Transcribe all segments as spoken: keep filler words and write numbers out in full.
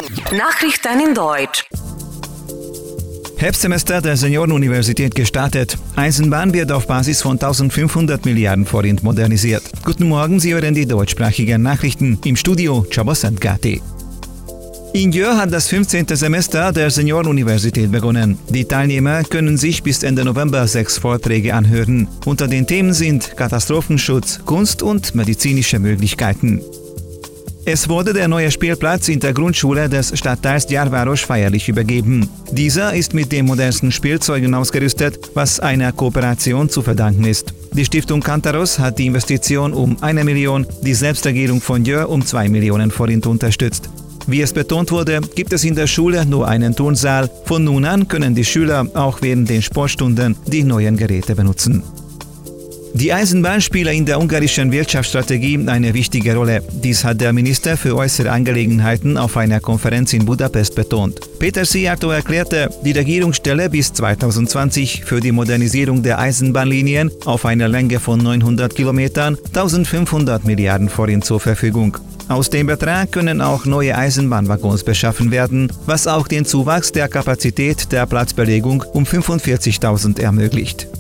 Nachrichten in Deutsch. Herbstsemester der Seniorenuniversität gestartet. Eisenbahn wird auf Basis von eintausendfünfhundert Milliarden Forint modernisiert. Guten Morgen, Sie hören die deutschsprachigen Nachrichten. Im Studio Csaba Gati. In Győr hat das fünfzehnte Semester der Seniorenuniversität begonnen. Die Teilnehmer können sich bis Ende November sechs Vorträge anhören. Unter den Themen sind Katastrophenschutz, Kunst und medizinische Möglichkeiten. Es wurde der neue Spielplatz in der Grundschule des Stadtteils Gyárváros feierlich übergeben. Dieser ist mit den modernsten Spielzeugen ausgerüstet, was einer Kooperation zu verdanken ist. Die Stiftung Kantaros hat die Investition um eine Million, die Selbstregierung von Győr um zwei Millionen Forint unterstützt. Wie es betont wurde, gibt es in der Schule nur einen Turnsaal. Von nun an können die Schüler auch während den Sportstunden die neuen Geräte benutzen. Die Eisenbahn spielt in der ungarischen Wirtschaftsstrategie eine wichtige Rolle. Dies hat der Minister für äußere Angelegenheiten auf einer Konferenz in Budapest betont. Péter Szijjártó erklärte, die Regierung stelle bis zweitausendzwanzig für die Modernisierung der Eisenbahnlinien auf einer Länge von neunhundert Kilometern eintausendfünfhundert Milliarden Forint zur Verfügung. Aus dem Betrag können auch neue Eisenbahnwaggons beschaffen werden, was auch den Zuwachs der Kapazität der Platzbelegung um fünfundvierzigtausend ermöglicht.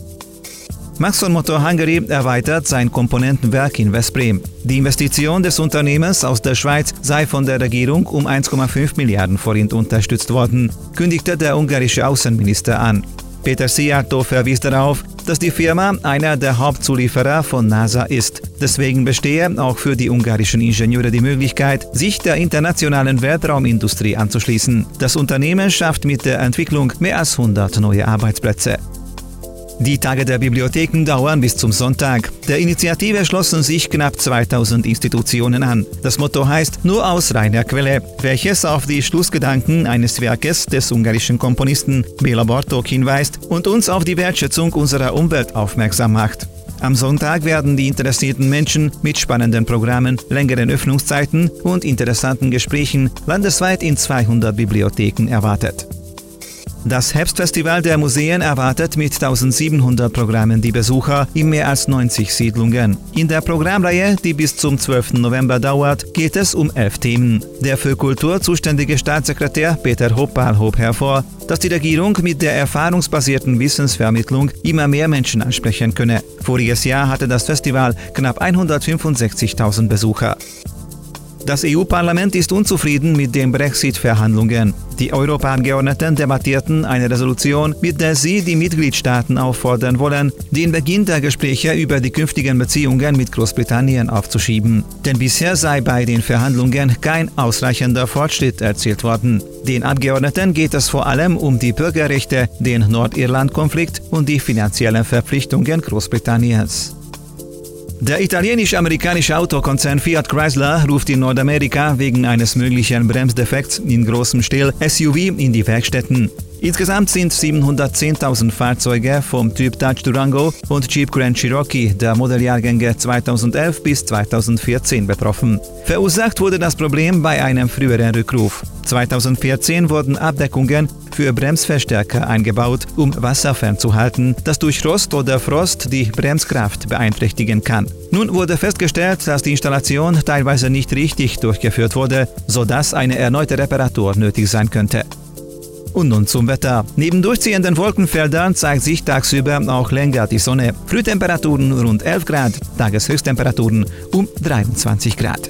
Maxon Motor Hungary erweitert sein Komponentenwerk in Veszprém. Die Investition des Unternehmens aus der Schweiz sei von der Regierung um eins Komma fünf Milliarden Forint unterstützt worden, kündigte der ungarische Außenminister an. Péter Szijjártó verwies darauf, dass die Firma einer der Hauptzulieferer von NASA ist. Deswegen bestehe auch für die ungarischen Ingenieure die Möglichkeit, sich der internationalen Weltraumindustrie anzuschließen. Das Unternehmen schafft mit der Entwicklung mehr als hundert neue Arbeitsplätze. Die Tage der Bibliotheken dauern bis zum Sonntag. Der Initiative schlossen sich knapp zweitausend Institutionen an. Das Motto heißt „Nur aus reiner Quelle", welches auf die Schlussgedanken eines Werkes des ungarischen Komponisten Béla Bartók hinweist und uns auf die Wertschätzung unserer Umwelt aufmerksam macht. Am Sonntag werden die interessierten Menschen mit spannenden Programmen, längeren Öffnungszeiten und interessanten Gesprächen landesweit in zweihundert Bibliotheken erwartet. Das Herbstfestival der Museen erwartet mit eintausendsiebenhundert Programmen die Besucher in mehr als neunzig Siedlungen. In der Programmreihe, die bis zum zwölften November dauert, geht es um elf Themen. Der für Kultur zuständige Staatssekretär Peter Hoppál hob hervor, dass die Regierung mit der erfahrungsbasierten Wissensvermittlung immer mehr Menschen ansprechen könne. Voriges Jahr hatte das Festival knapp hundertfünfundsechzigtausend Besucher. Das E U-Parlament ist unzufrieden mit den Brexit-Verhandlungen. Die Europaabgeordneten debattierten eine Resolution, mit der sie die Mitgliedstaaten auffordern wollen, den Beginn der Gespräche über die künftigen Beziehungen mit Großbritannien aufzuschieben. Denn bisher sei bei den Verhandlungen kein ausreichender Fortschritt erzielt worden. Den Abgeordneten geht es vor allem um die Bürgerrechte, den Nordirland-Konflikt und die finanziellen Verpflichtungen Großbritanniens. Der italienisch-amerikanische Autokonzern Fiat Chrysler ruft in Nordamerika wegen eines möglichen Bremsdefekts in großem Stil S U V in die Werkstätten. Insgesamt sind siebenhundertzehntausend Fahrzeuge vom Typ Dodge Durango und Jeep Grand Cherokee der Modelljahrgänge zweitausendelf bis zweitausendvierzehn betroffen. Verursacht wurde das Problem bei einem früheren Rückruf. zweitausendvierzehn wurden Abdeckungen für Bremsverstärker eingebaut, um Wasser fernzuhalten, das durch Rost oder Frost die Bremskraft beeinträchtigen kann. Nun wurde festgestellt, dass die Installation teilweise nicht richtig durchgeführt wurde, sodass eine erneute Reparatur nötig sein könnte. Und nun zum Wetter. Neben durchziehenden Wolkenfeldern zeigt sich tagsüber auch länger die Sonne. Frühtemperaturen rund elf Grad, Tageshöchsttemperaturen um dreiundzwanzig Grad.